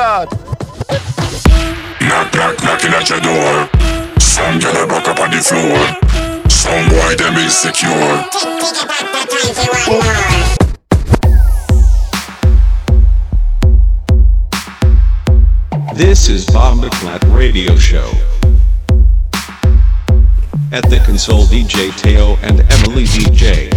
God. Knock, knock, knocking at your door. Some girl a back up on the floor. Some boy them insecure. This is Bombaclat Radio Show. At the console, DJ Teo and Emily DJ.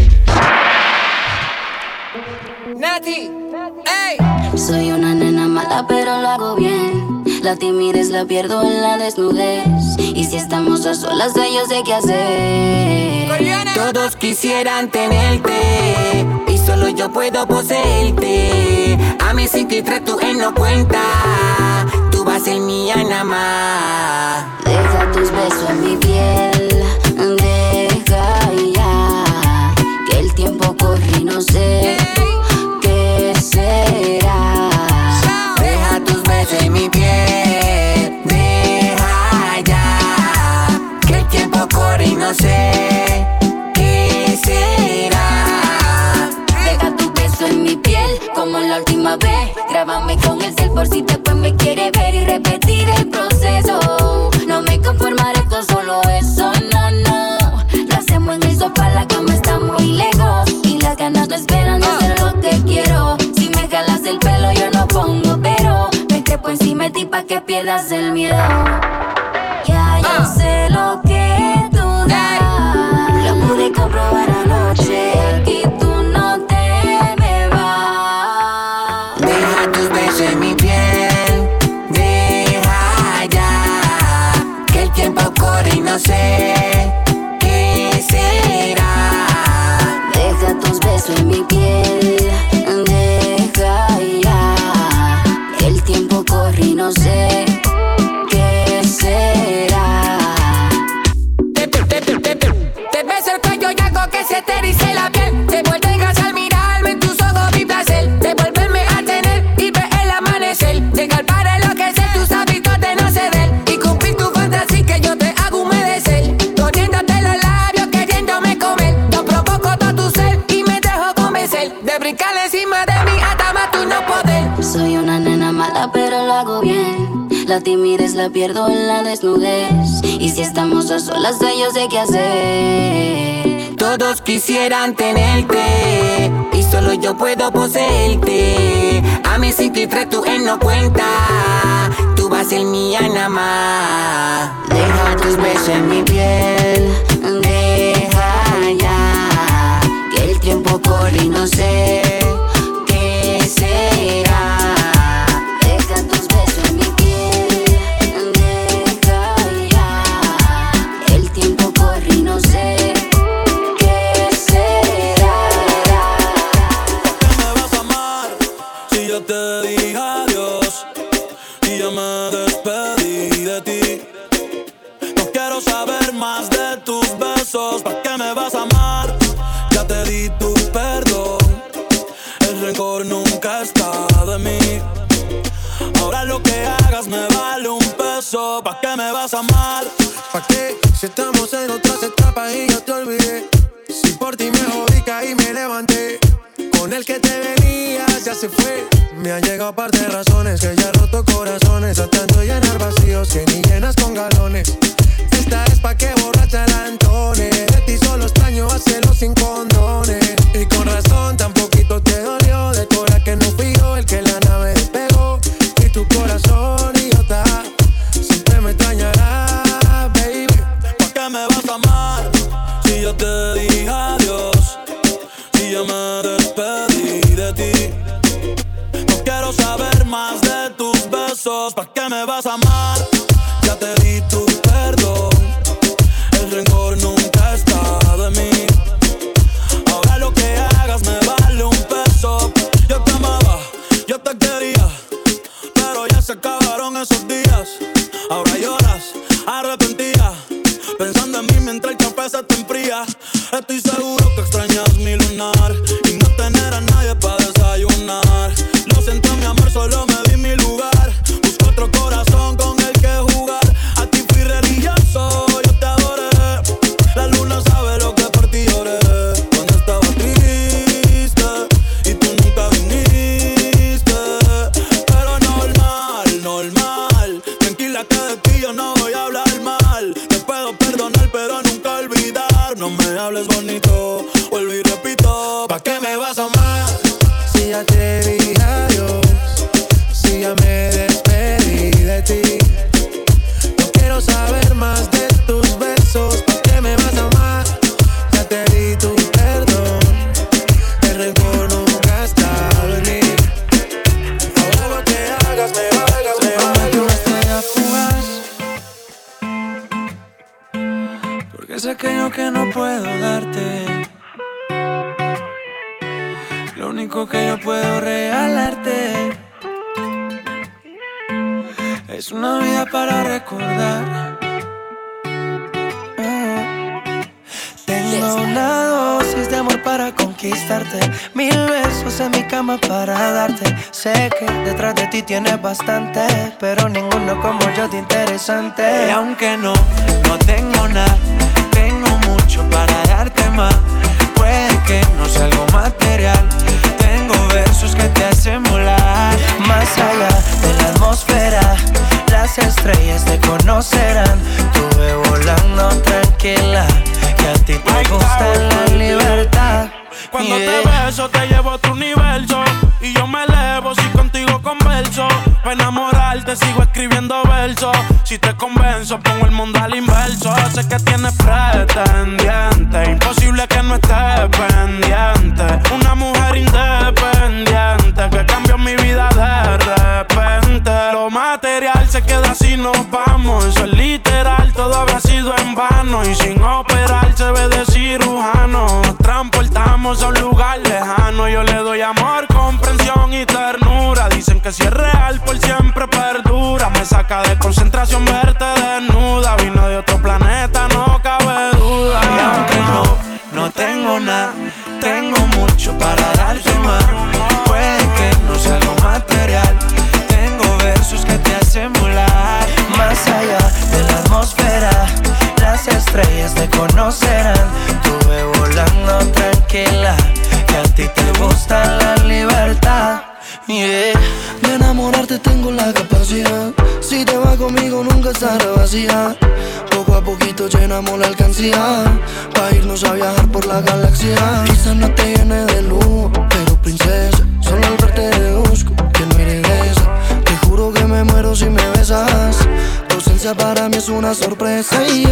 Nati, ey. Soy una nena mala pero lo hago bien. La timidez la pierdo en la desnudez. Y si estamos a solas yo sé qué hacer. Coreana. Todos quisieran tenerte y solo yo puedo poseerte. A mis 53 tú él no cuenta. Tú vas a ser mía nada más. Deja tus besos en mi piel. Deja ya que el tiempo corre y no sé qué será. Deja tus besos en mi piel. Deja ya que el tiempo corre y no sé qué será. Deja tu beso en mi piel como la última vez. Grábame con el cel por si después me quiere ver y repetir el proceso. No me conformaré con solo eso, no, no. Lo hacemos en el sofá, la cama está muy lejos y las ganas no esperan de hacer lo que quiero. Si me jalas el pelo yo no pongo pero. Me trepo encima de ti pa' que pierdas el miedo. Ya yo sé lo que tú das. Lo pude comprobar anoche. Aquí tú no te me vas. Deja tus besos en mi piel. Deja ya que el tiempo corre y no sé qué será. Deja tus besos en mi piel. Deja ya que el tiempo corre y no sé qué será. Te beso el cuello y hago que se te erice la piel. Te vuelve gas al mirarme en tus ojos mi placer. Te vuelverme a tener y ver el amanecer. Llegar para enloquecer tus hábitos de no ceder. Y cumplir tu fantasía que yo te hago humedecer. Poniéndote los labios queriéndome comer. Yo provoco todo tu ser y me dejo convencer. De brincar encima de mí hasta más tú no poder. Soy una nena mala pero lo hago bien. La timidez la pierdo en la desnudez. Y si estamos a solas yo sé qué hacer. Todos quisieran tenerte y solo yo puedo poseerte. A mis 53 tú él no cuenta. Tú vas a ser mía nada más. Deja tus besos en mi piel. Deja ya que el tiempo corre y no sé qué será. Deja tus besos en mi piel. Deja ya. El tiempo corre y no sé qué será. ¿Por qué me vas a amar si yo te dije adiós y ya me despedí de ti? No quiero saber más de tus besos. ¿Para qué me vas a amar? Ya te di tu perdón. El rencor nunca está de mí. Ahora lo que hagas me vale un peso. ¿Pa' qué me vas a amar? ¿Pa' qué? Si estamos en otras etapas y yo te olvidé. Si por ti me jodí, caí y me levanté. Con el que te venías ya se fue. Me han llegado par de razones que ya he roto corazones. Tratando de llenar vacíos que ni llenas con galones. Esta es pa' que borracha la entone. De ti solo extraño hacerlo sin condones. Y con razón tan poquito te dolió. De cora que no fui yo el que la nave despegó. Y tu corazón idiota siempre me extrañará, baby. ¿Pa' qué me vas a amar si yo te dije adiós? Si ya me despedí de ti. No quiero saber más de tus besos. ¿Pa' qué me vas a amar? Ya te di tu perdón. El rencor nunca está de mí. Ahora lo que hagas me vale un peso. Yo te amaba, yo te quería, pero ya se acabaron esos días. Ahora lloras, arrepentida, pensando en mí mientras el café se te enfría. Estoy seguro que extrañas mi lunar y no tener a nadie para desayunar. Lo siento mi amor, solo me di mi lugar. Busco otro corazón con el que jugar. A ti fui religioso, yo te adoré. La luna sabe lo que por ti lloré. Cuando estaba triste y tú nunca viniste. Pero normal, mira que de ti yo no voy a hablar mal. Te puedo perdonar pero nunca olvidar. No me hables bonito, vuelvo y repito. ¿Pa' qué me vas a amar? Si ya te dije adiós, si ya me despedí de ti. No quiero saber más de tus besos. ¿Pa' qué me vas a amar? Ya te di tu perdón. El rencor nunca ha estado en mí. Ahora lo que hagas me valgas, me valgas. Una estrella fugaz, porque es aquello que no puedo darte. Lo único que yo puedo regalarte es una vida para recordar. Tengo una dosis de amor para conquistarte, 1000 besos en mi cama para darte. Sé que detrás de ti tienes bastante, pero ninguno como yo de interesante. Y aunque no tengo nada, tengo mucho para darte más. Puede que no sea algo material, tengo versos que te hacen volar. Más allá de la atmósfera, las estrellas te conocerán. Tuve volando tranquila, que a ti te gusta la libertad. Cuando te beso te llevo a otro universo, y yo me elevo si contigo converso. Pa' enamorarte sigo escribiendo versos. Si te convenzo pongo el mundo al inverso. Sé que tienes pretendiente, imposible que no estés pendiente. Una mujer independiente que cambió mi vida de repente. Lo material se queda si nos vamos, eso es literal, todo habrá sido en vano. Y sin operar se ve de cirujano. Nos transportamos a un lugar lejano. Yo le doy amor, comprensión y ternura. Dicen que si es real por siempre perdura. Me saca de concentración verte desnuda. Vino de otro planeta, no cabe duda. Y aunque no tengo nada, tengo mucho para darte más. Puede que no sea algo material, tengo versos que te hacen volar. Más allá de la atmósfera, las estrellas te conocerán. Tuve volando tranquila, que a ti te gusta la libertad. Yeah. De enamorarte tengo la capacidad. Si te vas conmigo nunca estará vacía. Poco a poquito llenamos la alcancía, pa' irnos a viajar por la galaxia. Quizás no te llene de lujo, pero princesa, solo al verte deduzco que no eres de esa. Te juro que me muero si me besas. Tu ausencia para mí es una sorpresa. Y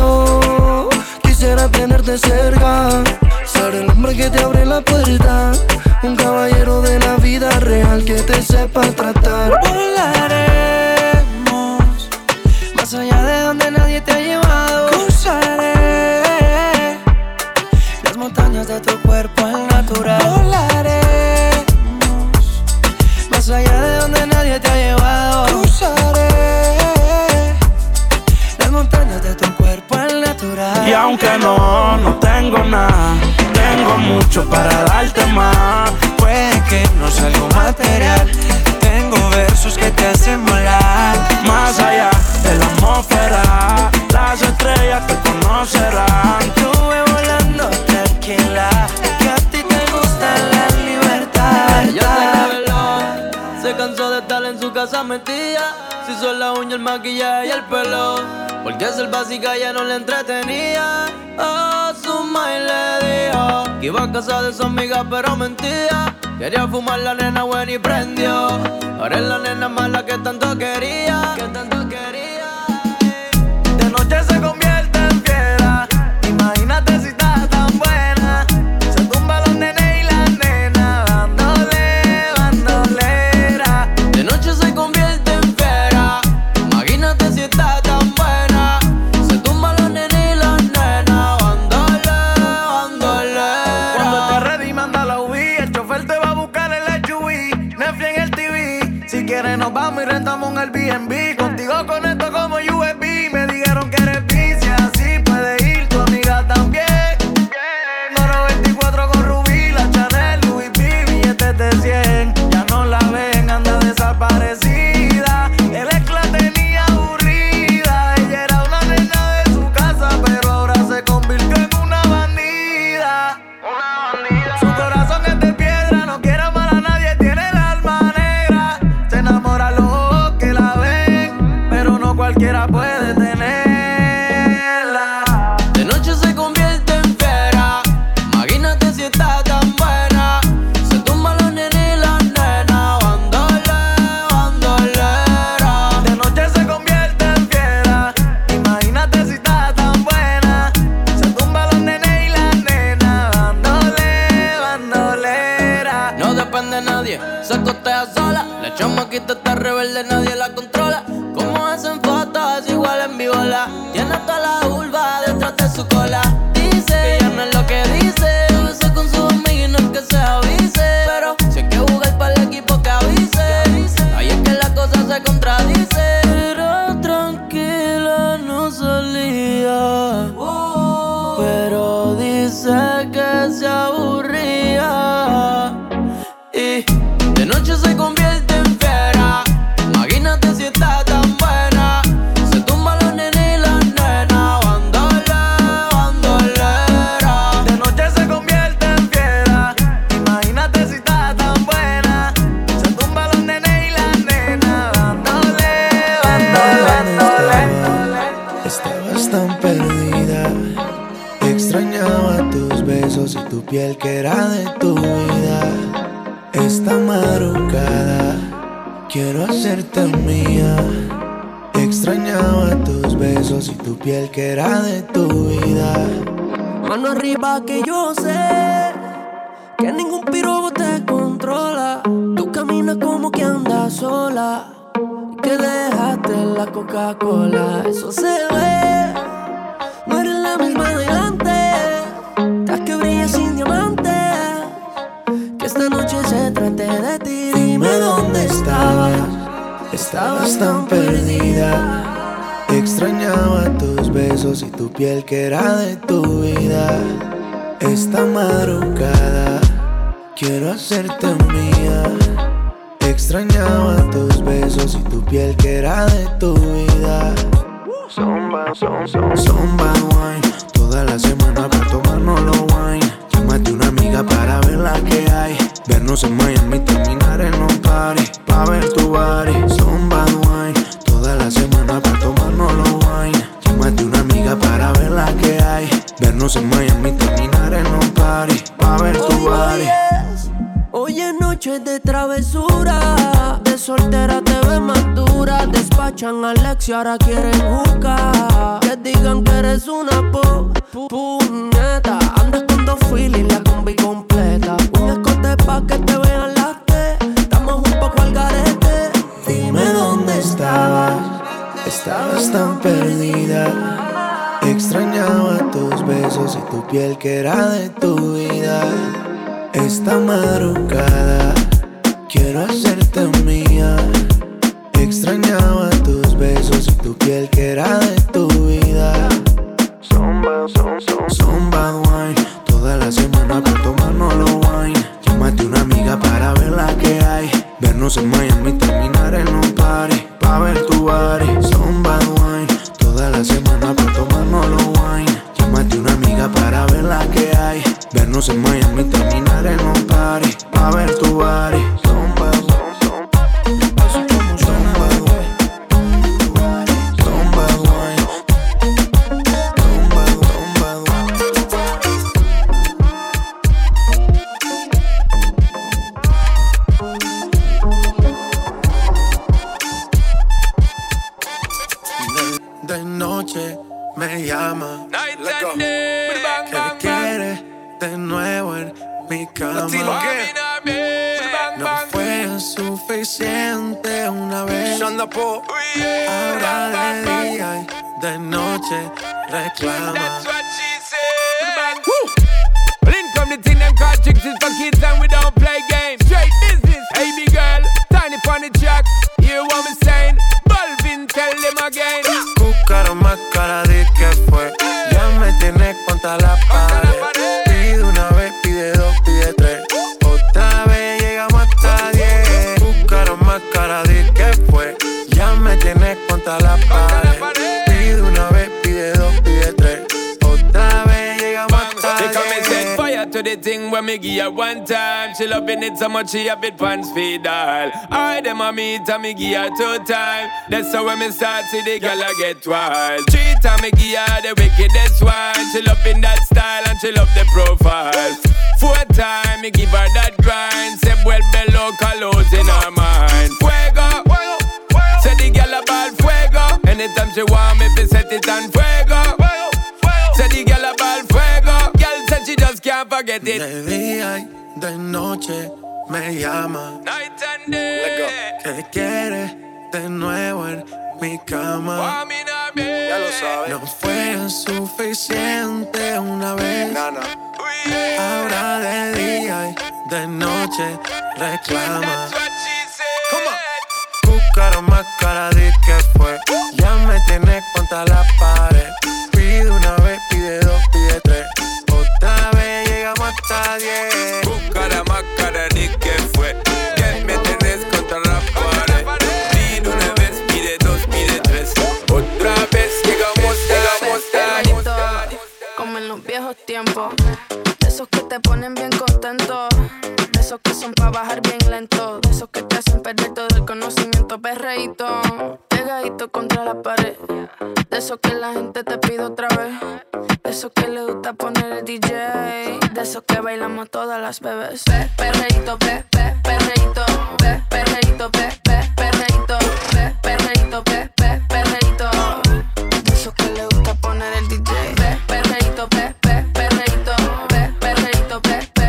yo quisiera tenerte cerca, ser el hombre que te abre la puerta, un caballero de la vida real que te sepa tratar. Volaremos más allá de donde nadie te ha llevado. Cruzaré las montañas de tu cuerpo al natural. Volaremos más allá de donde nadie te ha llevado. Cruzaré las montañas de tu cuerpo al natural. Y aunque no tengo nada, tengo mucho para darte más. Puede que no sea algo material, tengo versos que te hacen volar. Más allá de la atmósfera, las estrellas te conocerán. Estuve volando tranquila, que a ti te gusta la libertad. Yo sé que veló, se cansó de estar en su casa metida. Se hizo la uña, el maquillaje y el pelo, porque ser básica ya no le entretenía. A su madre le dijo que iba a casa de su amiga pero mentía. Quería fumar la nena buena y prendió. Ahora es la nena mala que tanto quería. De noche se convierte en fiera. Imagínate si está tan buena. Se tumba los nenes y la nena bandolera. De noche se convierte en fiera. Imagínate si está tan buena. Se tumba los nenes y la nena bandolera. Cuando estés ready manda la UV. El chofer te va a buscar el SUV. Netflix en el TV. Si quieres nos vamos y rentamos un Airbnb. Contigo cualquiera puede tenerla. De noche se convierte en fiera. Imagínate si está tan buena. Se tumba los nenes y las nenas. Bandolera. De noche se convierte en fiera. Imagínate si está tan buena. Se tumba los nenes y las nenas. Bandolera. No depende de nadie, se costea sola. La chamaquita está rebelde, nadie la controla. Como hacen fotos, igual en vivola. Tiene toda la vulva detrás de su cola. Dice que ya no es lo que dice. Besa con sus amigos y no es que se avise. Pero si hay que jugar para el equipo que avise. Ahí es que la cosa se contradice. Pero tranquila, no salía. Pero dice que se aburría. Y de noche se convierte en fiera. Imagínate si está tan buena. Se tumba los nenes y las nenas. Bandolera. De noche se convierte en fiera. Imagínate si está tan buena. Se tumba los nenes y las nenas. Bandolera. Estabas tan perdida. Extrañaba tus besos y tu piel que era de tu vida. Esta madrugada quiero hacerte mía. Extrañaba tus besos y tu piel que era de tu vida. Mano arriba que yo sé que ningún pirobo te controla. Tú caminas como que andas sola. Que dejaste la Coca-Cola. Eso se ve. No eres la misma de antes. Estás que brillas sin diamantes. Que esta noche se trate de ti. Dime dónde estabas. Estabas tan perdida. Extrañaba tus besos y tu piel que era de tu vida. Esta madrugada quiero hacerte mía. Extrañaba tus besos y tu piel que era de tu vida. Son bad wine. Toda la semana para tomarnos los wine. Llámate una amiga para ver la que hay. Vernos en Miami, terminar en un party. Pa' ver tu body. Son bad wine. Toda la semana para tomarnos los wine. Llámate una amiga para ver la que hay. Vernos en Miami, terminar en un party. Pa' ver tu body. Hoy es noche de travesura. De soltera te ves más dura. Despachan a Alex y ahora quieren jugar. Que digan que eres una puñeta. Andas con dos filis, la combi completa. Un escote pa' que te vean las T. Estamos un poco al garete. Dime dónde estabas. Estabas tan perdida. Extrañaba tus besos y tu piel que era de tu vida. Esta madrugada quiero hacerte mía. Extrañaba tus besos y tu piel que era de tu vida. Son bad wine. Toda la semana para tomarnos los wine. Llámate una amiga para ver la que hay. Vernos en Miami, terminar en un party. Pa' ver tu body. Son bad wine. Toda la semana para tomarnos los wine. Llámate una amiga para ver la que hay. Vernos en Miami, terminar en un party. Pa' ver tu body. Son bad wine. De noche me llama. Que quiere de nuevo en mi cama. No fue suficiente una vez. Ahora de día y de noche reclama. Come the thing them call chicks is for kids and we don't play games. Straight business, hey big girl, tiny pon the track. Hear what me saying? Balvin, tell them again. Buscaron más cara de que fue. Ya me tienes contra la pared. Pide una vez, pide dos, pide tres. Otra vez llegamos hasta 10. Buscaron más cara de que fue. Ya me tienes contra la pared. Pide una vez, pide dos, pide tres. Otra vez llegamos hasta 10. To the thing when me give her one time. She loving it so much she have it pants feed all. I dem a meet and me give her 2 times. That's how when me start see the girl I get wild. 3 times me give her the wickedest one. She loving that style and she love the profile. 4 times me give her that grind. Say vuelve loca los in her mind. Fuego, say the girl about fuego. Anytime she want me fi set it on fuego. Say the girl about fuego. Girl said she just can't forget it. De día y de noche me llama. Night and day. ¿Qué quieres de nuevo en mi cama? Ya lo sabes. No fue suficiente una vez. Ahora de día y de noche reclama. Cara más cara de que fue. Ya me tienes contra la pared. Pide una vez, pide 2, pide 3. Otra vez llegamos hasta 10. Cara más cara de que fue. Ya me tienes contra la pared. Pide una vez, pide 2, pide 3. Otra vez llegamos hasta 10. Como en los viejos tiempos. De esos que te ponen bien contento. De esos que son pa' bajar bien lento. De esos que te hacen perder todo el conocimiento. Perreíto, pegadito contra la pared. De esos que la gente te pide otra vez. De esos que le gusta poner el DJ. De esos que bailamos todas las bebés. Perreíto, perreíto, perreíto, perreíto, perreíto, perreíto. De esos que le gusta poner el DJ. Perreíto, perreíto, perreíto, perreíto,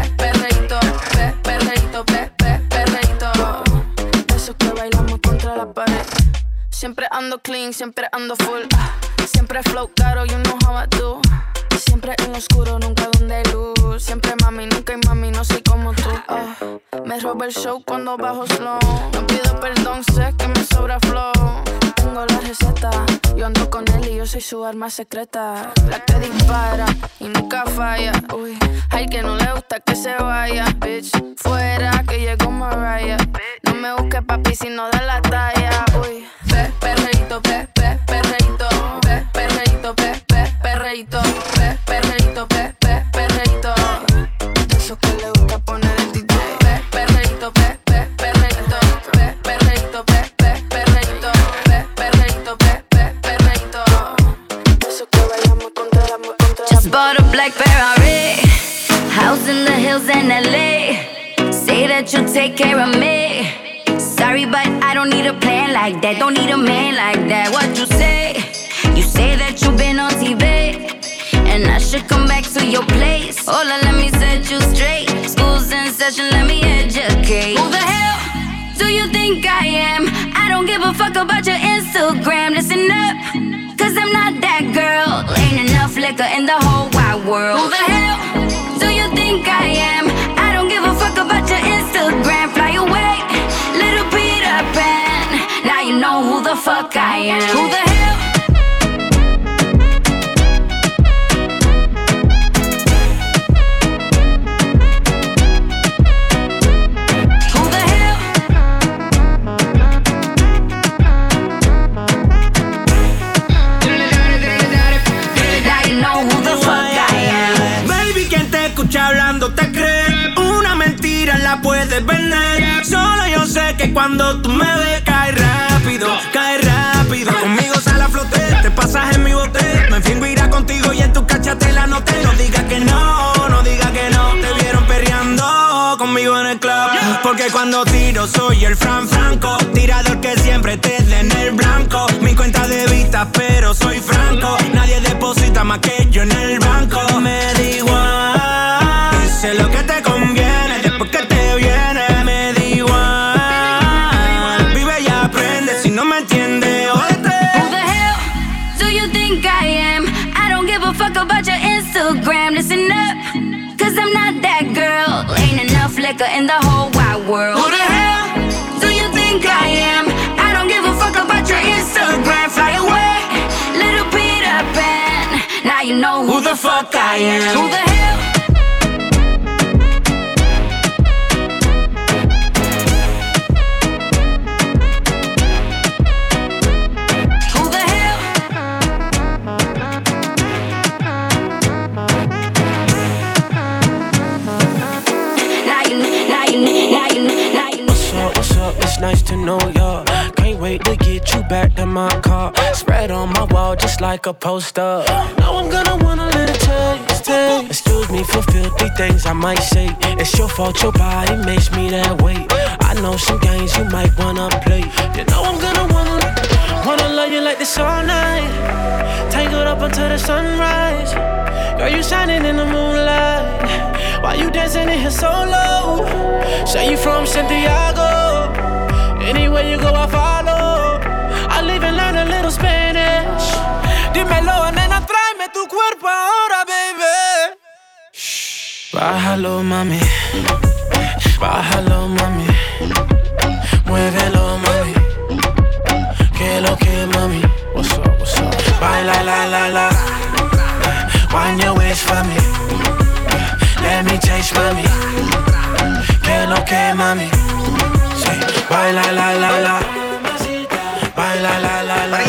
perreíto. De esos que bailamos contra la pared. Siempre ando clean, siempre ando full. Siempre flow caro, you know how I do. Siempre en lo oscuro, nunca donde hay luz. Siempre mami, nunca hay mami, no soy como tú. Me roba el show cuando bajo slow. No pido perdón, sé que me sobra flow. Tengo la receta, yo ando con él y yo soy su arma secreta. La que dispara y nunca falla. Uy, hay que no le gusta que se vaya. Bitch, fuera que llegó Mariah. No me busques papi si no da la talla. Uy, perreíto, perreíto, perreíto, perreíto, perreíto, perreíto. De esos que le gusta poner el DJ. Perreíto, perreíto, perreíto, perreíto, perreíto. De esos que bailamos contra la Just bought a black Ferrari, house in the hills in LA. Say that you'll take care of me. Sorry, but I don't need a plan like that. Don't need a man like that. What you say? You say that you've been on TV, and I should come back to your place. Hola, let me set you straight. School's in session, let me educate. Who the hell do you think I am? I don't give a fuck about your Instagram. Listen up, cause I'm not that girl. Ain't enough liquor in the whole wide world. Who the hell do you think I am? I don't give a fuck about your Instagram. Fly away, little Peter Pan. Now you know who the fuck I am. Who the hell? Hablando te crees, una mentira la puedes vender. Solo yo sé que cuando tú me ves cae rápido, conmigo sale a flote, te pasas en mi bote. Me fingo irá contigo y en tu cachatela no te. No digas que no digas que no. Te vieron perreando conmigo en el club. Porque cuando tiro soy el Franco, tirador que siempre te dé en el blanco. Mi cuenta de vista pero soy franco. Nadie deposita más que yo en el banco. Me da igual, sé lo que te conviene, después que te viene, me da igual. Vive y aprende, si no me entiendes, óyete. Who the hell do you think I am? I don't give a fuck about your Instagram. Listen up, cause I'm not that girl. Ain't enough liquor in the whole wide world. Who the hell do you think I am? I don't give a fuck about your Instagram. Fly away, Little Peter Pan. Now you know who the fuck I am. Who the hell? nice to know ya. Can't wait to get you back to my car. Spread on my wall just like a poster. Now I'm gonna want a little taste. Excuse me for filthy things I might say. It's your fault your body makes me that way. I know some games you might wanna play. You know I'm gonna wanna love you like this all night. Tangled up until the sunrise. Girl, you shining in the moonlight. Why you dancing in here so low? Say you from Santiago. Anywhere you go I follow. I'll even learn a little Spanish. Dímelo, nena, tráeme tu cuerpo ahora, baby. Shh. Bájalo, mami. Bájalo, mami. Muévelo, mami. Que lo que, mami. What's up, what's up? Baila, la, la, la. Wind your waist for me. Let me taste, mami. Que lo que, mami. Say, baila, la, la, la. Baila, la, la, la.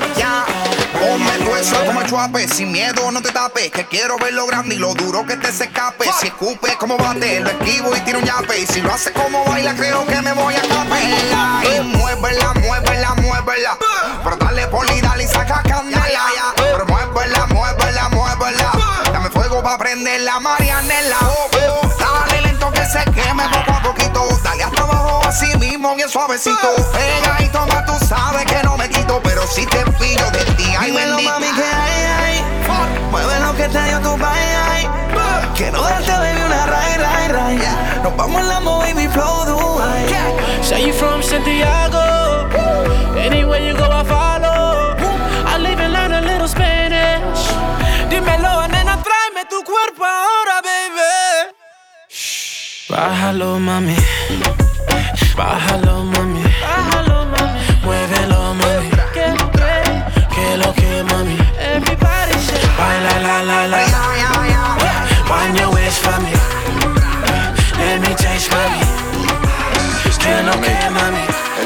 Ponme tu eso como el chuape, sin miedo no te tapes. Que quiero ver lo grande y lo duro que te se escape. Si escupe como bate, lo esquivo y tiro un yape. Y si lo hace como baila, creo que me voy a capela. Y muévela, muévela, muévela. Pero dale poli, dale y saca candela. Pero muévela, muévela, muévela. Dame fuego pa' prender la Marianela. Dale lento que se queme poco a poquito. Dale hasta abajo así mismo, bien suavecito. Pega y toma, tú sabes que no me quito. Pero si te pillo de ti, ay bendito. Mami, que hay. Mueve lo que te dio tu bye. Quiero darte, baby, una ray. Nos vamos en la baby flow Dubai. Say you from Santiago. Anywhere you go I follow. I'll even learn a little Spanish. Dímelo, nena, tráeme tu cuerpo ahora, baby. Shh. Bájalo, mami. Bájalo, mami. Bájalo, mami. Muévelo, mami. Que lo que, mami. Everybody say, baila, la, la, la. Wind your waist for me. Let me taste, mami. Que lo que, mami.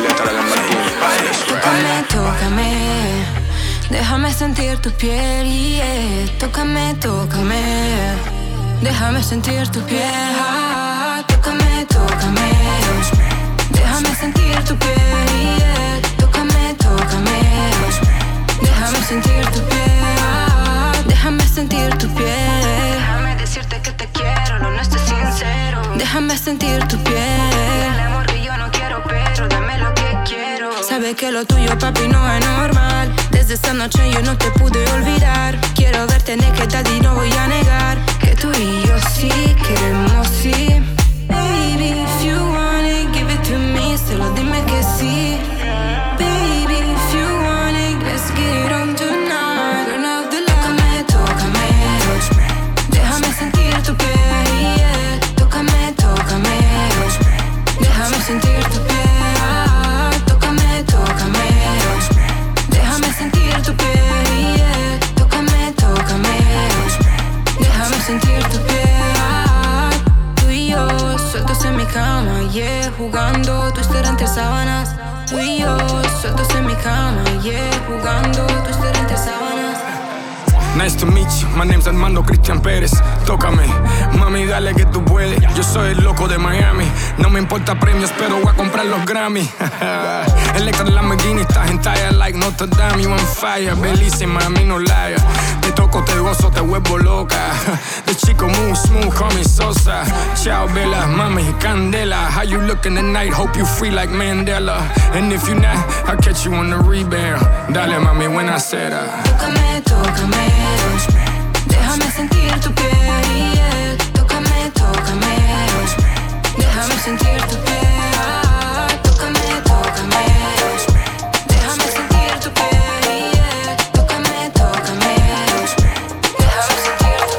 Tócame, tócame. Déjame sentir tu piel, yeah. Tócame, tócame. Déjame sentir tu piel. Tócame, tócame. Déjame sentir tu piel, yeah. Tócame, tócame. Déjame sentir tu piel. Déjame sentir tu piel. Déjame decirte que te quiero, lo nuestro es sincero. Déjame sentir tu piel. El amor que yo no quiero, pero dame lo que quiero. Sabe que lo tuyo, papi, no es normal. Desde esta noche yo no te pude olvidar. Quiero verte naked y no voy a negar que tú y yo sí queremos, sí. Baby, if you want it, give it to me. Solo dime que sí. Baby, if you want it, let's get it on tonight. Turn off the light. Tócame, tócame. Déjame sentir tu piel, yeah. Tócame, tócame. Déjame sentir tu piel. Tócame, tócame. Déjame sentir tu piel, yeah. Tócame, tócame. Déjame sentir tu piel. Tú y yo, sueltos en mi cama, yeah. Jugando, twister entre sábanas. Tú y yo, sueltos en mi cama, yeah. Jugando, twister entre sábanas. Nice to meet you, my name's Armando Cristian Pérez. Tócame, mami, dale que tú puedes. Yo soy el loco de Miami. No me importa premios, pero voy a comprar los Grammy. Electra Lamborghini, estás en talla like Notre Dame. You on fire, bellísima, a mí no liar. Te toco, te gozo, te vuelvo loca. The chico move smooth, call me Sosa. Ciao, Bella, mami, Candela. How you looking tonight? Hope you free like Mandela. And if you not, I'll catch you on the rebound. Dale, mami, buena cera. Tócame, tócame. Déjame sentir tu piel, yeah. Tócame, tócame. Déjame sentir tu piel. Tócame, tócame. Déjame sentir tu piel, yeah. Tócame, tócame. Déjame sentir tu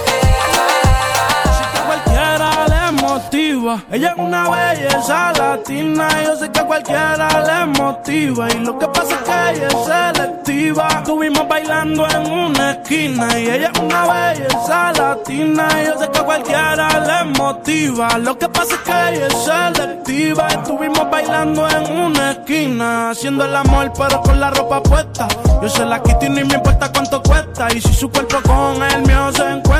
piel. Cualquiera le motiva. Ella es una belleza latina. Yo sé que a cualquiera le motiva. Y lo que pasa es que ella es selectiva. Estuvimos bailando en una esquina. Y ella es una belleza latina. Yo sé que a cualquiera le motiva. Lo que pasa es que ella es selectiva. Estuvimos bailando en una esquina. Haciendo el amor pero con la ropa puesta. Yo se la quito y ni me importa cuánto cuesta. Y si su cuerpo con el mío se encuentra,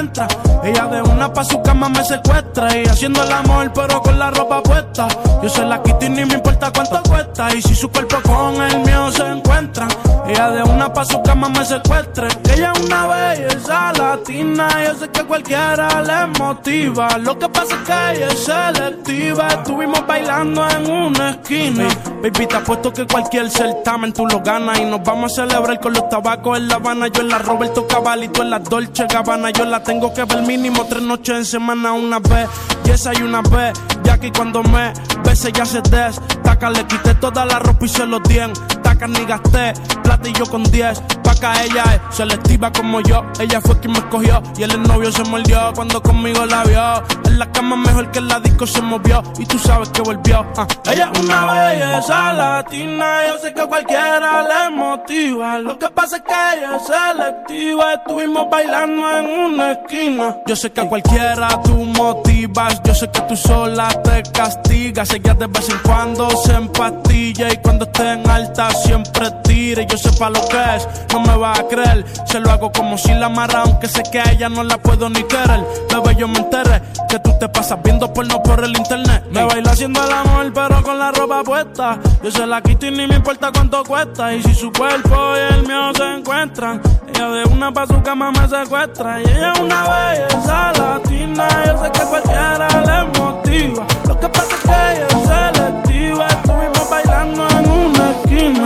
encuentra. Ella de una pa' su cama me secuestra. Y haciendo el amor pero con la ropa puesta. Yo se la quito y ni me importa cuánto cuesta. Y si su cuerpo con el mío se encuentran. Ella de una pa' su cama me secuestra. Ella es una belleza latina. Yo sé que cualquiera le motiva. Lo que pasa es que ella es selectiva. Estuvimos bailando en una esquina. Baby, te apuesto que cualquier certamen tú lo ganas. Y nos vamos a celebrar con los tabacos en La Habana. Yo en la Roberto Cavalli, tú en la Dolce Gabbana. Yo la tengo que ver mínimo 3 noches en semana. Una vez, y esa y una vez. Ya que cuando me bese ya se destaca. Le quité toda la ropa y se los di en taca. Ni gasté plata y yo con 10. Paca, ella es selectiva como yo. Ella fue quien me escogió y el novio se mordió cuando conmigo la vio. En la cama mejor que en la disco se movió. Y tú sabes que volvió. Ella es una belleza latina. Yo sé que cualquiera le motiva. Lo que pasa es que ella es selectiva. Estuvimos bailando en una esquina. Yo sé que a cualquiera tú motivas. Yo sé que tú sola te castigas. Ella de vez en cuando se empastilla. Y cuando esté en alta siempre tira. Y yo sepa lo que es, no me va a creer. Se lo hago como si la amarra, aunque sé que a ella no la puedo ni querer. Bebé, yo me enteré que tú te pasas viendo porno por el internet. Me baila haciendo el amor pero con la ropa puesta. Yo se la quito y ni me importa cuánto cuesta. Y si su cuerpo y el mío se encuentran, ella de una pa' su cama me secuestra. Y ella es una belleza latina. Yo sé que cualquiera le motiva. Lo que pasa es que ella es selectiva. Estuvimos bailando en una esquina.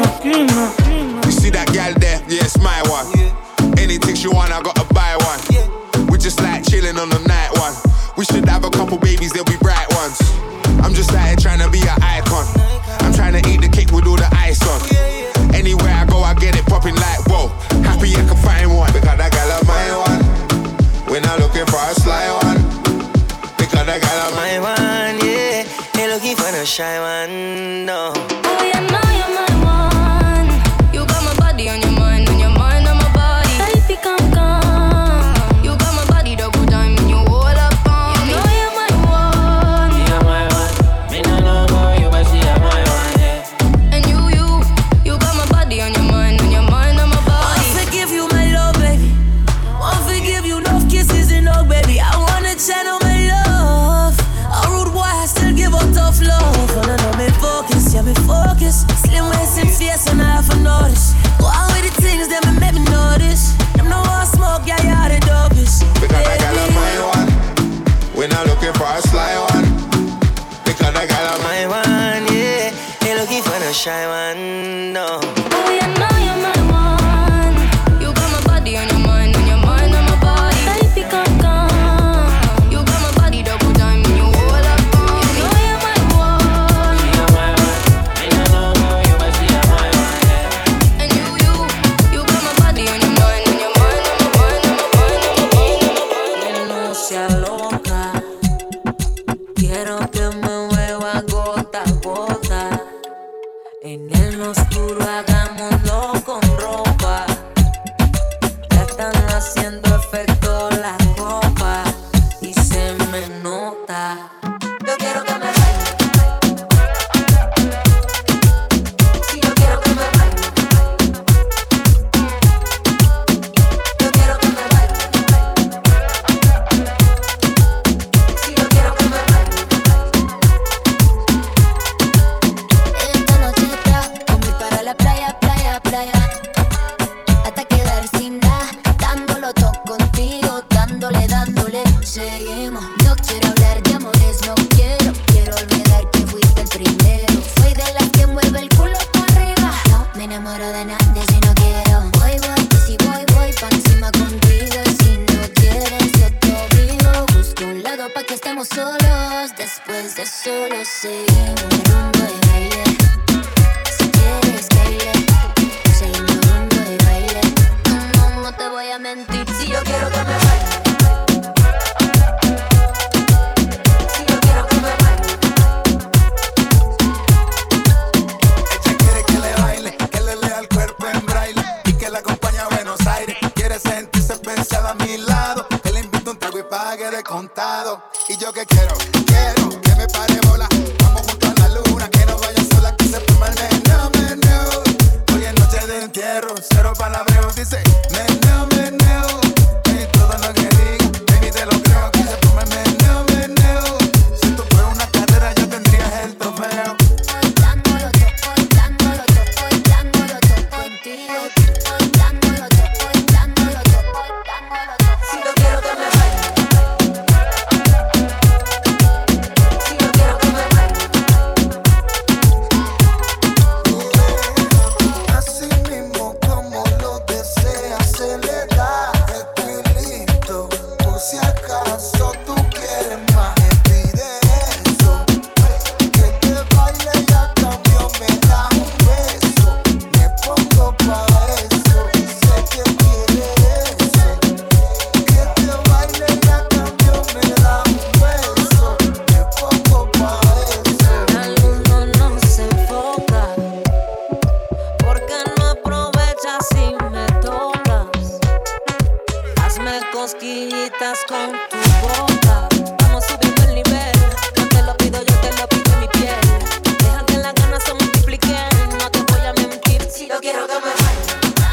You see that gal there? Yeah, it's my one. Anything she want, I gotta buy one. We just like chilling on the night one. We should have a couple babies, they'll be bright ones. I'm just out here trying to be an icon. I'm trying to eat the cake with all the ice on. Anywhere I go, I get it popping like whoa. Happy I can find one. Because that gal of my one. We're not looking for a sly one. Because that gal of my one, yeah. Ain't looking for no shy one, no. Oh, yeah, no, you're my one. You got my body on your mind on my body. Baby, come. You got my body double time and you all up on me. You know you're my one. You're my one. Me no know more, you but see you're my one, yeah. And you got my body on your mind on my body. I forgive you, my love, baby. I forgive you, love kisses and hug, baby. I wanna channel my love. A rude boy, I still give up tough love. Wanna know me focus, yeah, me focus. Slim waist and fierce and I have a notice. Go out with the things that make me notice. Them no one smoke, yeah, yeah, the dopest. Because that gal of my one. We're not looking for a sly one. Because that gal of my one, yeah. Ain't looking for no shy one, no. Oh, yeah, no, you're my one. You got my body on your mind on my body. Baby, come. You got my body double time and you all up on me. You know you're my one. You're my one. Me no know more, you but see you're my one, yeah. And you got my body on your mind on my Que no sea loca. Quiero que me mueva gota a gota. En el oscuro hagámoslo con ropa. Ya están haciendo efecto las copas y se me nota. Yo quiero que me baile. Si yo quiero que me baile. Yo quiero que me baile. Si yo quiero que me baile. Esta noche voy para la playa, hasta quedar sin nada, dándolo todo contigo, dándole, seguimos. No quiero hablar de amores, no quiero olvidar que fuiste el primero. Soy de las que mueve el culo para arriba, no me enamoro de nadie si no quiero. Voy, que si voy pa' encima contigo. Y si no quieres yo te digo, busco un lado pa' que estemos solos. Después de solo seguimos rumbo de baile. Si quieres baile, seguimos rumbo de baile. No te voy a mentir, si yo quiero que me baile. Si yo quiero que me baile. Ella quiere que le baile, que le lea el cuerpo en braille y que la acompañe a Buenos Aires. Quiere sentirse pensada a mi lado, que le invito un trago y pague de contado. Y yo que quiero que me pare bola. Vamos junto a la luna, que no vaya sola, que se forma el meneo. Hoy es noche de entierro, cero palabreos, dice meneo. Y todo lo que diga, Dame cosquillitas con tu boca. Vamos subiendo el nivel. No te lo pido, yo te lo pido en mi piel. Deja que las ganas se multipliquen. No te voy a mentir si yo quiero que me bailes.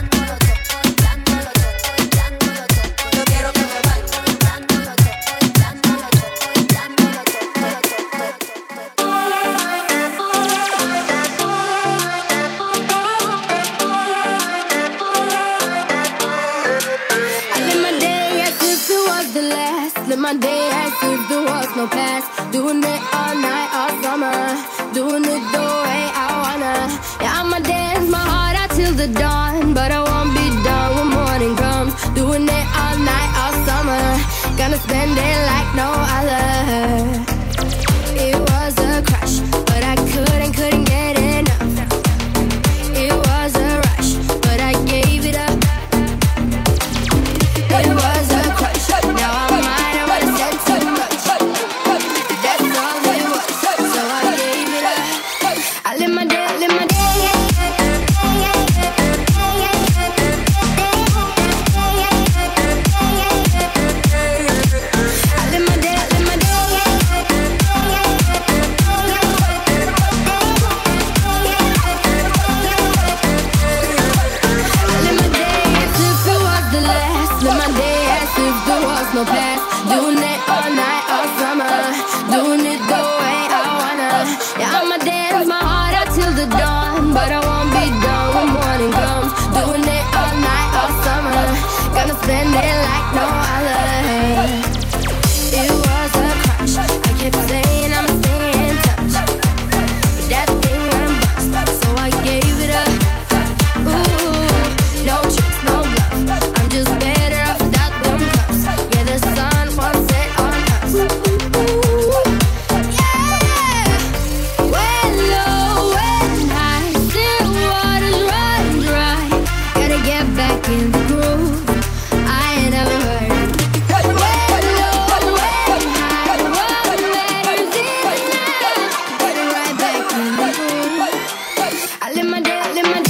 My day as if there was no past. Doing it all night, all summer. Doing it the way I wanna. Yeah, I'ma dance my heart out till the dawn. But I won't be done when morning comes. Doing it all night, all summer. Gonna spend it like no other. It was a crush, but I couldn't get enough. It was a rush, but I gave it up. It was a crush, now I'm no past. Doing it all night, all summer. Doing it the way I wanna. Yeah, I'ma dance my heart out till the dawn. But I won't be done when morning comes. Doing it all night, all summer. Gonna spend it like no other. It was a crush. I kept saying I'ma stay in touch, but that thing went bust, so I gave it up. Ooh, no tricks, no bluff. I'm just better off without them cuffs. Yeah, the sun won't set on us. Yeah. When low, when high, still waters run dry. Gotta get back in the groove. I ain't never heard it. When low, when high, what matters is now. Get it right back in the groove. I live my day, I live my day.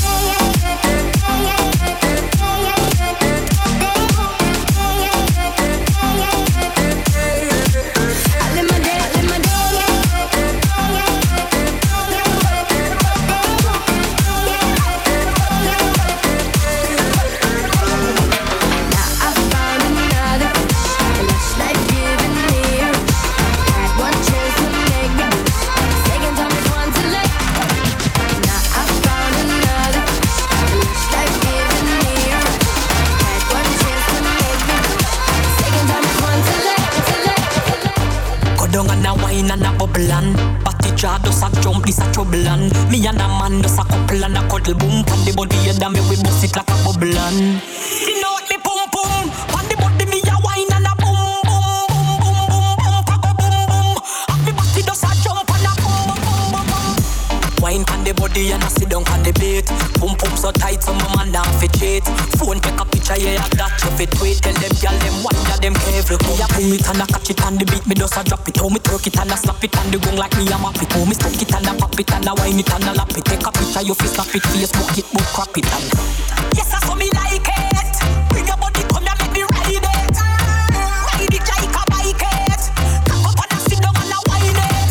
And a bubble and Batty jaw does a jump, this a trouble and me and a man does a couple and a cuddle boom. Pan the body and me we bust it like a bubble and you know what me pum pum. Pan the body me a wine and a boom boom boom boom boom boom boom boom boom. And me batty does a jump and a boom boom boom boom. Wine pan the body and a sit down on the bed. Pum pum so tight so my man not fit cheat. Phone take a picture yeah that you fit wait. Tell them girl them wine ya them every me a pull it and a catch it on the beat. Me does a drop it. How me twerk it and a slap it on the gong like me a map it. How me stuck it and a pop it and a wine it and a lap it. Take a picture you fi snap it, Facebook it, but crap it and yes I saw me like it. Bring your body come here make me ride it. Ride it like a bike it. Cock up and a sit down and a wine it.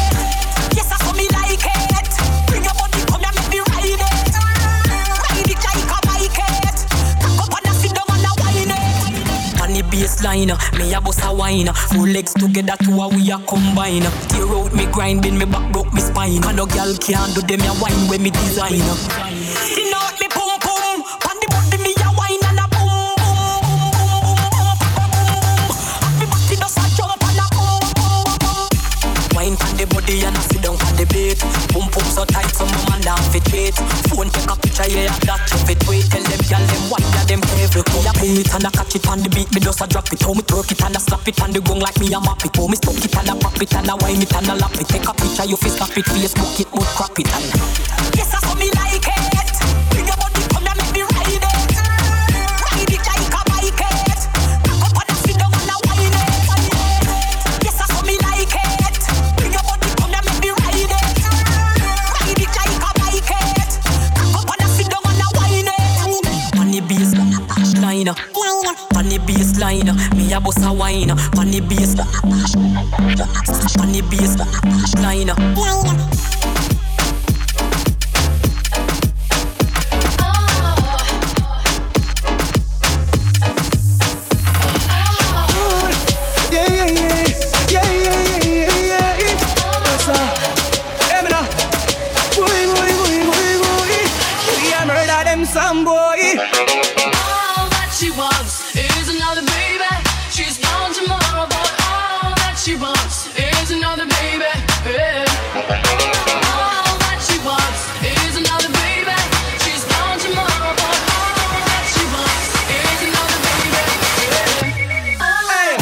Yes I saw me like it. Bring your body come here make me ride it. Ride it like a bike it. Cock up and a sit down and a wine it. On the baseline, me a bust a wine. Four legs together, two a we a combine. Tear out me grind, bend me back, broke me spine. And no girl can't do them a wine when me design. You know what me pum pum. On the body me a wine and a boom boom boom boom boom. And me body does a jump and a boom boom boom. Wine on the body and a sit down on the bed. Pum pum so tight so my man not fit wait. Phone take a picture yeah that you fit wait. Tell them girl them wine ya them every me a pull it and a catch it on the beat. Me does a drop it. How me twerk it and a slap it on the gong like me a map it. How me stuck it and a pop it and a wine it and a lap it. Take a picture you fi snap it, Facebook it, but crap it and yes I saw me like it. Bring your body come here make me ride it. Ride it like a bike it. Cock up and a sit down and a wine it. Yes I saw me like it. Bring your body come here make me ride it. Ride it like a bike it. Cock up and a sit down and a wine it. On the bass line. on the baseline. Me a bust a wine, on the bass, on the baseline. Some boy. All that she wants is another baby. She's gone tomorrow, but all that she wants is another baby. Yeah. All that she wants is another baby. She's gone tomorrow, but all that she wants is another baby. Yeah. Hey.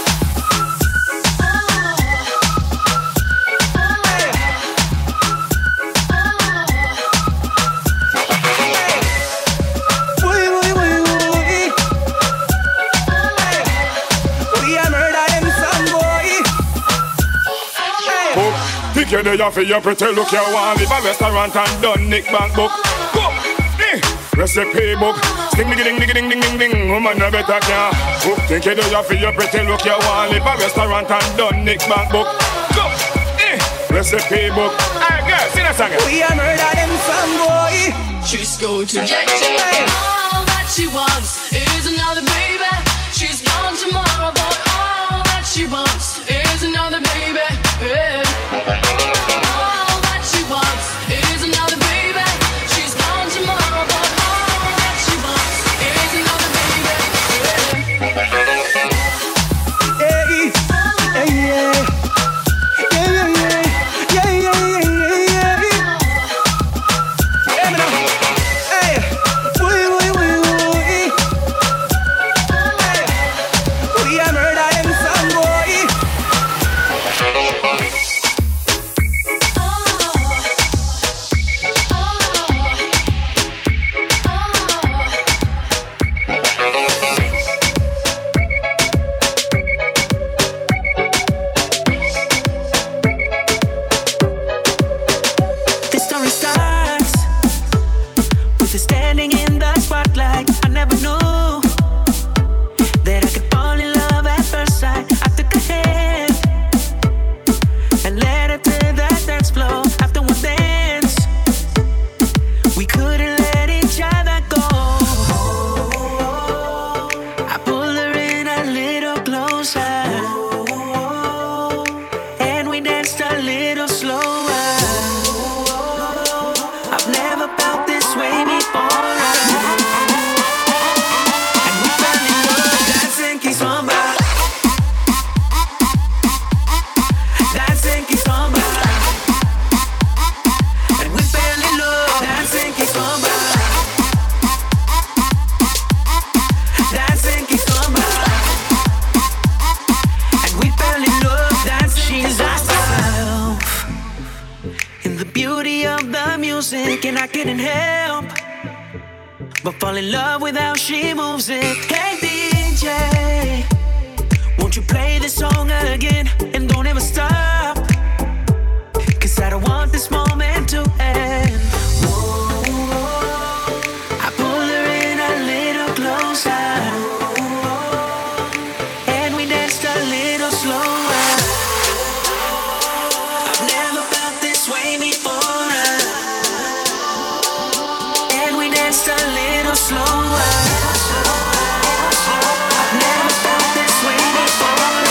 You there for your pretty look, you want live a restaurant and done Nick Bank book. Go, recipe book. Sting ding ding ding ding ding ding. Woman no better can. Think you there for your pretty look, you want live a restaurant and done Nick Bank book. Go, recipe book. Hey girl, sing that song. We a murder them some boy. She's going to jail. All that she wants is another baby. She's gone tomorrow, but all that she wants is another baby. Yeah. All that she wants is another baby. She's gone tomorrow, but all that she wants is another baby. Hey, hey, yeah. Yeah, yeah, yeah. Yeah, yeah, yeah, yeah. Hey, me now. Hey, wee, wee, wee, wee. Hey, we a murder them some boy. The story starts with us standing in the spotlight. I never knew that I could fall in love at first sight. I took her hand and led her to the dance floor. After one dance, we couldn't let each other go. I pulled her in a little closer, and we danced a little slower. I've never felt this way before. And we fell in love, dancing kizomba. Dancing kizomba. And we fell in love, dancing kizomba. Dancing kizomba. And we fell in love, dancing. She's herself in the beauty of the music, and I couldn't help but fall in love with how she moves it. Hey DJ, won't you play this song again and don't ever stop? 'Cause I don't want this moment to end. I pulled her in a little closer, and we danced a little slower. I've never felt this way before. And we danced a little slower. I've never felt this way before.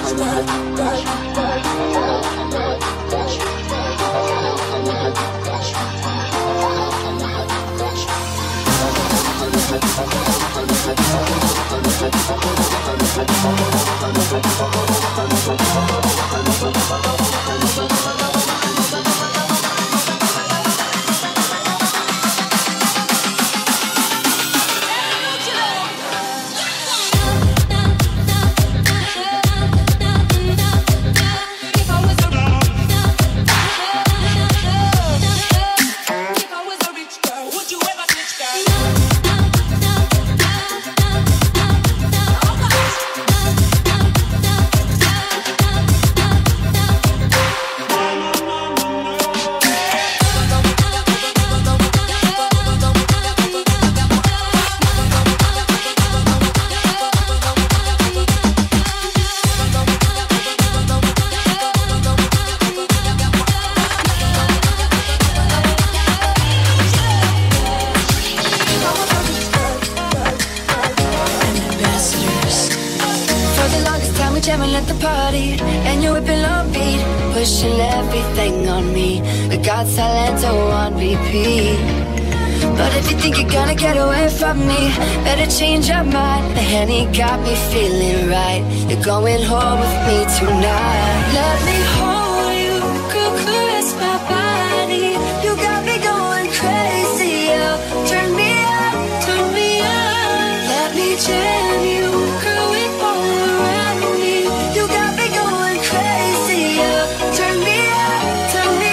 jamming at the party, and you're whipping on beat, pushing everything on me. We got Silento on repeat. But if you think you're gonna get away from me, better change your mind. The Henny got me feeling right. You're going home with me tonight. Let me hold you, caress my body. You got me going crazy, yeah. Turn me on, turn me on. Let me jam you, girl, we all around me. You got me going crazy, yeah. Turn me on, turn me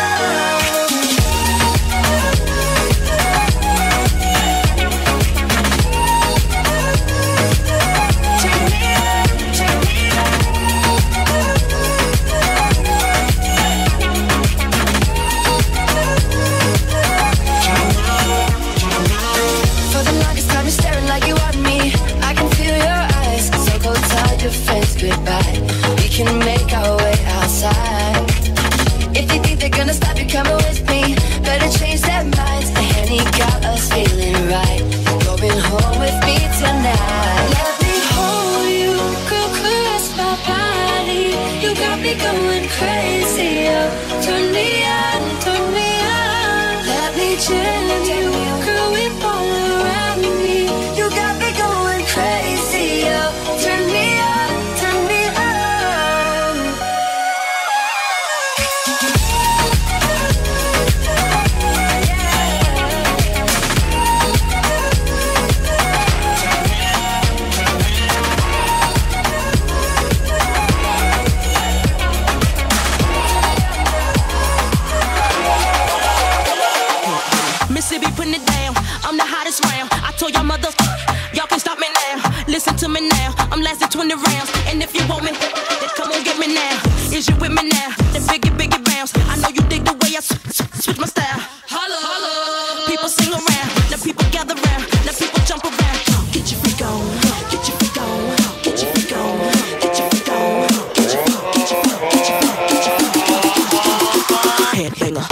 goodbye. We can make our way outside. If you think they're gonna stop you coming with me, better change their minds. The Henny got us feeling right. Going home with me tonight. Let me hold you, girl, caress my body. You got me going crazy, oh. Turn me on, turn me on. Let me jam you, girl, we all around me. You got me going crazy, oh. Turn me on. Y'all can stop me now. Listen to me now. I'm lasting 20 rounds. And if you want me, then come on get me now. Is you with me now? Then biggie bounce. I know you dig the way I switch my style. Holla, holla. People sing around. Now people gather round. Now people jump around. Get your freak on. Get your freak on. Get your freak on. Get your freak on. Get your freak on. Get your freak on. Get your freak on. Get your freak on. Headbanger.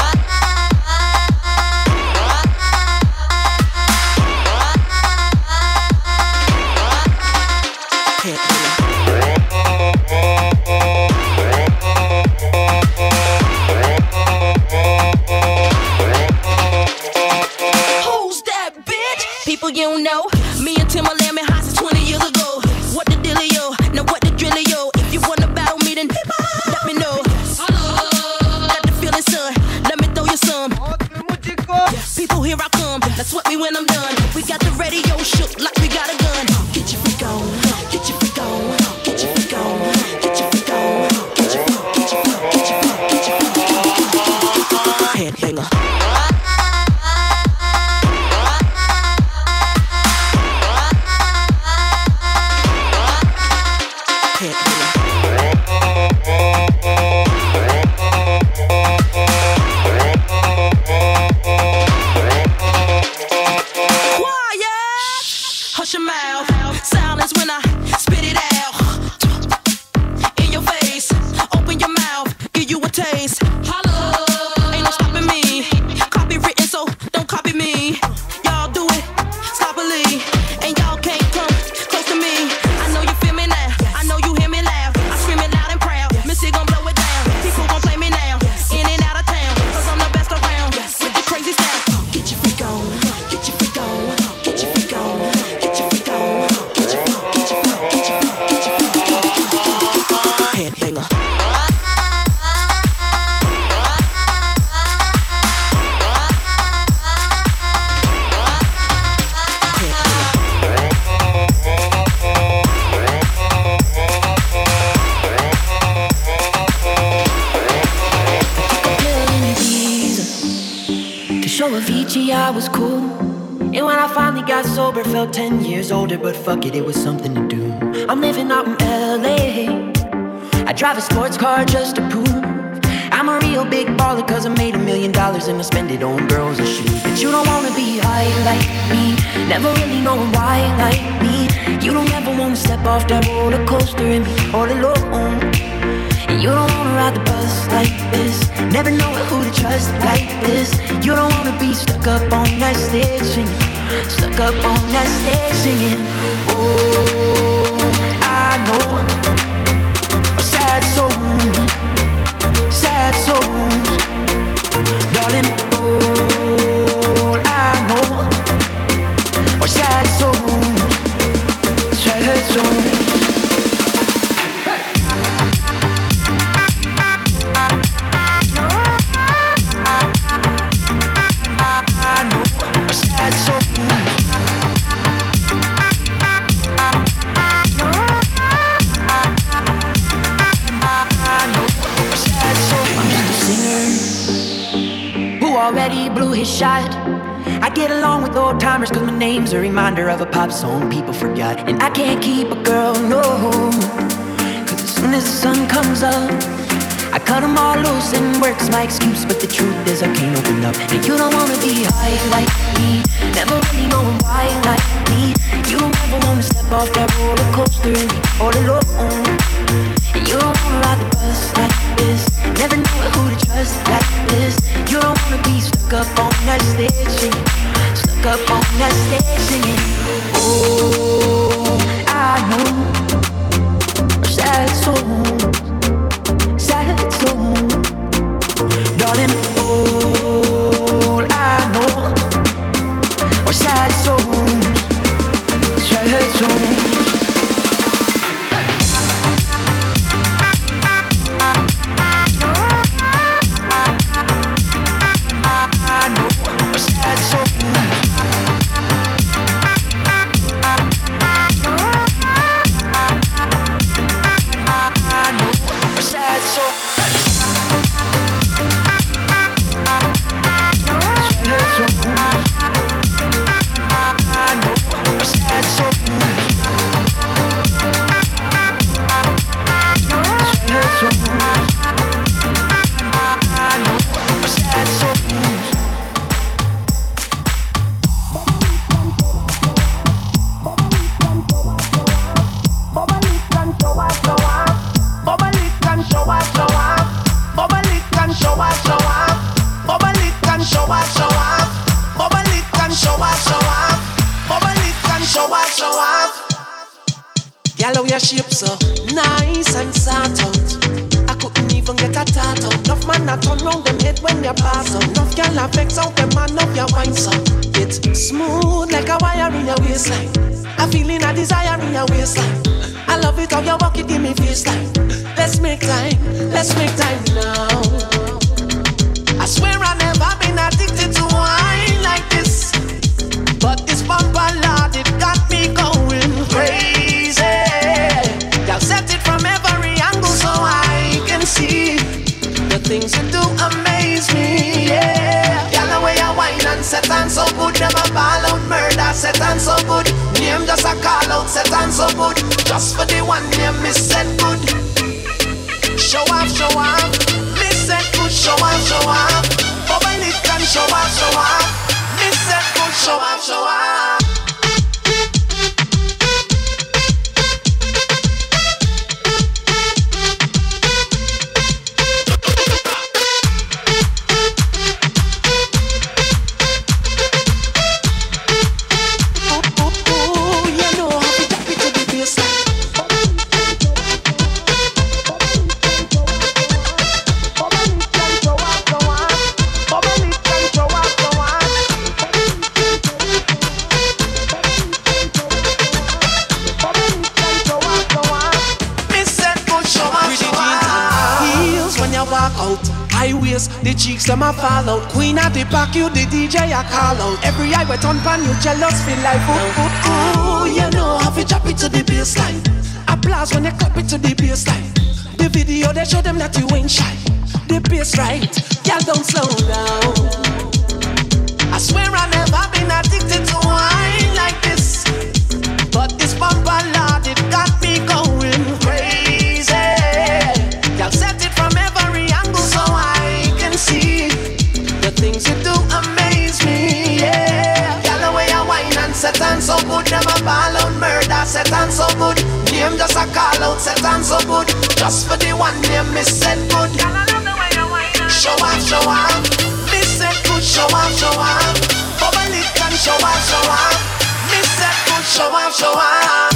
You know, me and Timberland been hot since 20 years ago. What the dealio? Now what the drillio? If you wanna battle me, then let me know. Got the feeling, son. Let me throw you some. People, here I come. Now sweat me when I'm done. We got the radio shook like we got a gun. Get your freak on. Get your freak on. Get your freak on. Get your freak on. Get your freak on. Get your freak on. Get your freak on. Get your freak on. Headbanger. And y'all can't come close to me. I know you feel me now. I know you hear me laugh. Gucci, I was cool. And when I finally got sober, felt 10 years older. But fuck it, it was something to do. I'm living out in LA. I drive a sports car just to prove I'm a real big baller, cause I made $1 million and I spend it on girls and shoes. But you don't wanna be high like me, never really knowing why like me. You don't ever wanna step off that roller coaster and be all alone. And you don't wanna ride the bus like this, never know who to trust like this. You don't wanna be stuck up on that stage singing, stuck up on that stage singing. Oh, I know a sad soul, sad souls, darling. All I know are sad souls, sad souls. Already blew his shot. I get along with old timers cause my name's a reminder of a pop song people forgot. And I can't keep a girl, no, cause as soon as the sun comes up I cut them all loose and work's my excuse. But the truth is I can't open up. And you don't wanna be high like me, never really knowing why like me. You don't ever wanna step off that roller coaster and be all alone. And you don't wanna ride the bus like this, never know who to trust like this. You don't wanna be stuck up on that stage singing, stuck up on that stage singing. Oh, I know a sad soul, sad soul, darling. All I know are sad souls, sad souls. Your shape so nice and sort out. I couldn't even get a tattoo. Enough man a turn round them head when you pass out. Enough girl a vex out them man up your wine so. It's smooth like a wire in your waistline. A feeling a desire in your waistline. I love it how you walk it, give me FaceTime. Let's make time now. I swear I've never been addicted to wine like this. But this bumper lord, it got me going crazy. Y'all set it from every angle so I can see the things you do amaze me, yeah. Y'all the way I whine and set on so good. Never ball out murder, set on so good. Name just a call out, set on so good. Just for the one name, miss said good. Show off, miss said good. Show off, bubble it and show off. Miss said good, show off. The cheeks them a fall out. Queen at the back, you the DJ a call out. Every eye wet on pan, you jealous feel like ooh, you know how to drop it to the baseline. Applause when they clap it to the baseline. The video they show them that you ain't shy. The bass right, y'all don't slow down. I swear dance so good. Name just a call out, set on so good. Just for the one name, me said good. Show off, show off. Me said good, show off, show off. Bubble it and show off, show off. Me said good, show off, show off.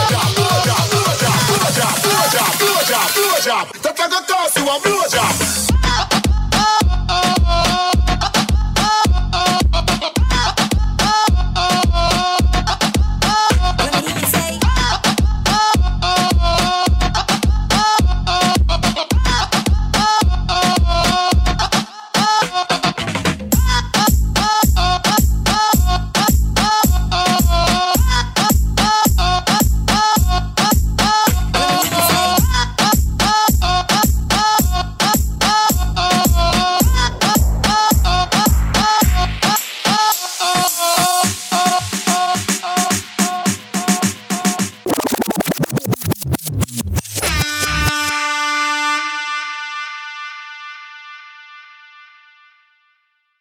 That I go toss you a blowjob.